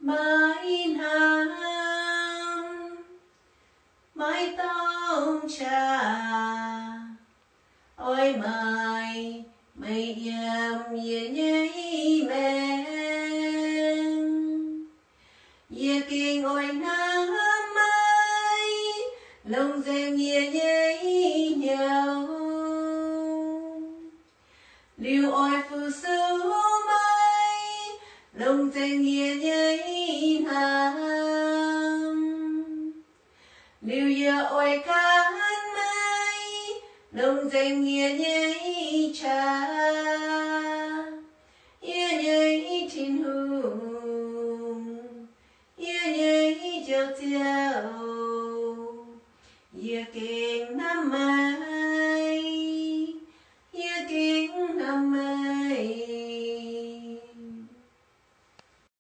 mãi ham mãi tông cha ôi mày mày yam ye nhây men ye kinh ôi nam mai lòng dèm ye nhây nhau liu ôi phụ sư mai lòng dèm ye nhây nam liu ye ôi can mai lòng dèm ye nhây cha